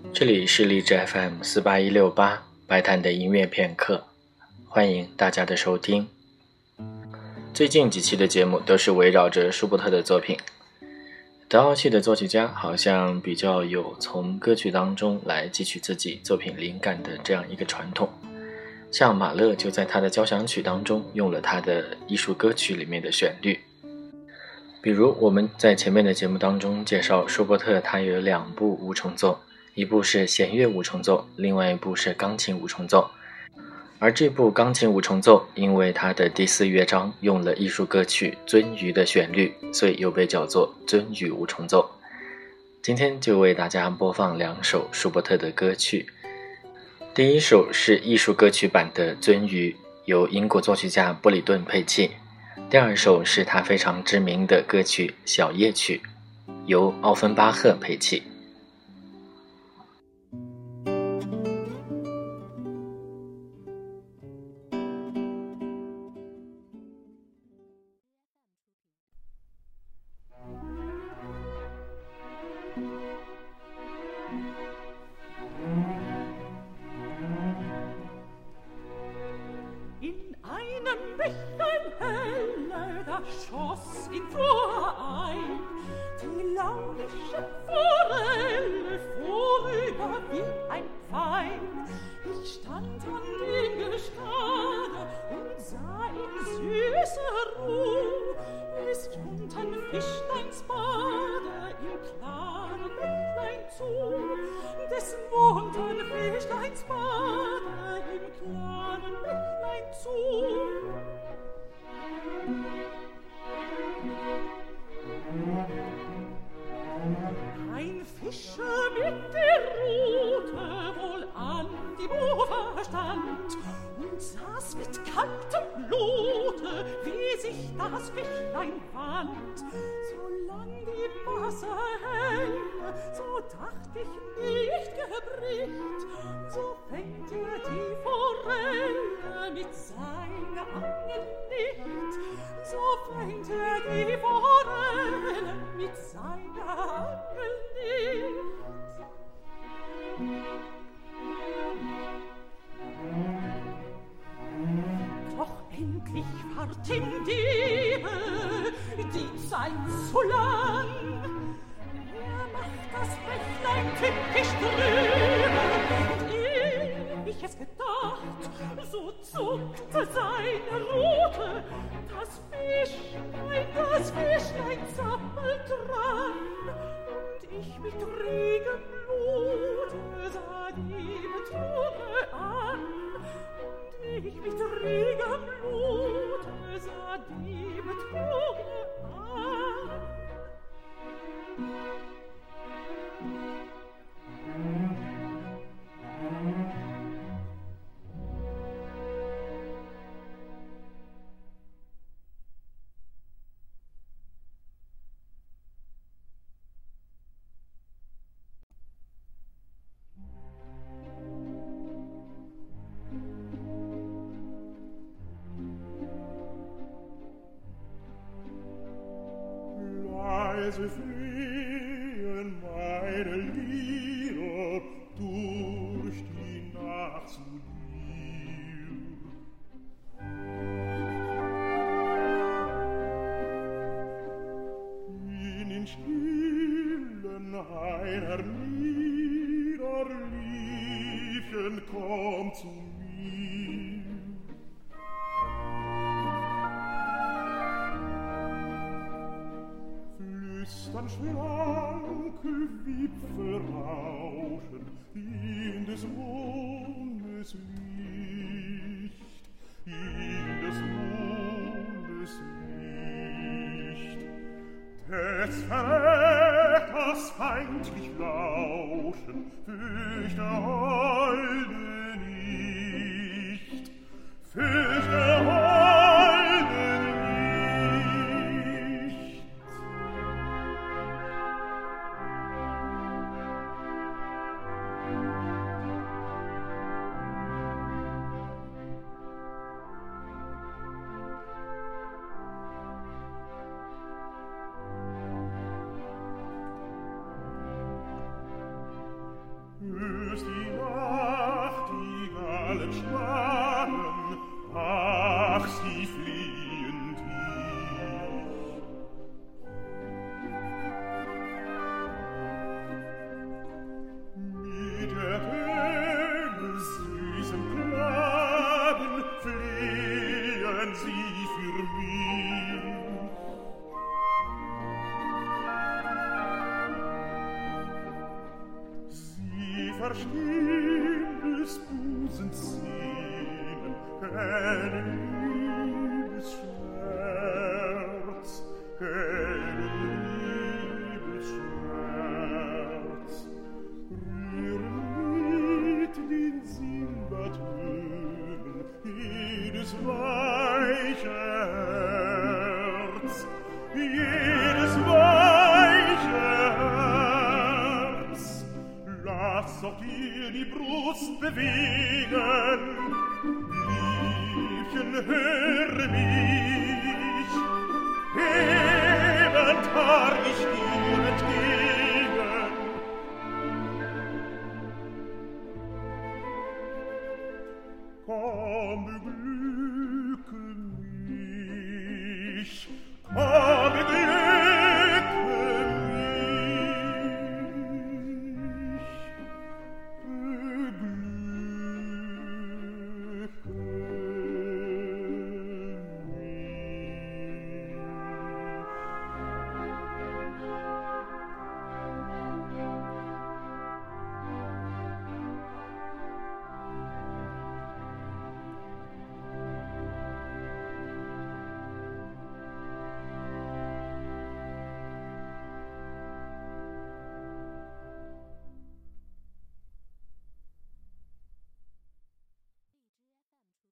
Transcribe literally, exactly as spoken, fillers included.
这里是荔枝 F M 四八一六八白谈的音乐片刻，欢迎大家的收听。最近几期的节目都是围绕着舒伯特的作品。德奥系的作曲家好像比较有从歌曲当中来汲取自己作品灵感的这样一个传统，像马勒就在他的交响曲当中用了他的艺术歌曲里面的旋律。比如我们在前面的节目当中介绍舒伯特，他有两部五重奏，一部是弦乐五重奏，另外一部是钢琴五重奏。而这部钢琴五重奏因为它的第四乐章用了艺术歌曲鳟鱼的旋律，所以又被叫做鳟鱼五重奏。今天就为大家播放两首舒伯特的歌曲。第一首是艺术歌曲版的鳟鱼，由英国作曲家布里顿配器。第二首是他非常知名的歌曲小夜曲，由奥芬巴赫配器。 Schoss in Flor ein, die launische Forelle vorüber wie ein Pfeil. Ich stand an dem Gestade und sah in süßer Ruh, es unten Fischleinsbade im klaren Bächlein zu, des munten Fischleinsbade im klaren Bächlein zu. Ein Fischer mit der Rute wohl an die Ufer stand und saß mit kaltem Blute, wie sich das Fischlein wand. Solang die Wasser hell, so dacht ich nicht gebricht, so fängt er die Forelle mit seiner Angel nicht, so fängt er die Forelle mit seiner Angel nicht. Doch endlich ward ihm Diebe die Zeit zu lang. Er macht das Bächlein tückisch drüber, und ehe ich es gedacht, so zuckte seine Rute. Das Fischlein, das Fischlein zappelt dran, und ich mit regem Blute sah die Betrüge an. Und ich mit regem Blute sah die Betrüge an. Leise fliehen meine Lieder durch die Nacht zu dir. In den Stillen einer Liederliefchen kommt zu mir. Flüstern schlanke Wipfel rauschen in des Mondes Licht, in des Mondes Licht. Des Verräters feindlich lauschen fürchte Holde nicht, fürchte Holde nicht. verstehen des Busens Sehnen, keine Liebesschmerz, keine Liebesschmerz. Rühren mit den Simbatönen jedes weiche Herz, jedes weiche Herz. Lass auch dir die Brust bewegen, Liebchen, höre mich, hebend harr ich dir entgegen. Komm, du Glück,